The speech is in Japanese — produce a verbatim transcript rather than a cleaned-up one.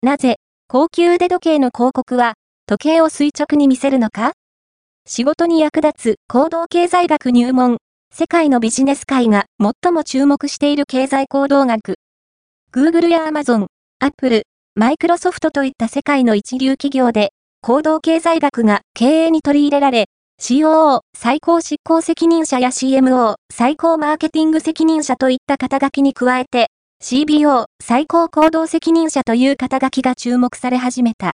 なぜ、高級腕時計の広告は、時計を垂直に見せるのか？仕事に役立つ行動経済学入門。世界のビジネス界が最も注目している経済行動学。Google や Amazon、Apple、Microsoft といった世界の一流企業で、行動経済学が経営に取り入れられ、シーオーオー 最高執行責任者や シーエムオー 最高マーケティング責任者といった肩書きに加えて、シービーオー 最高行動責任者という肩書きが注目され始めた。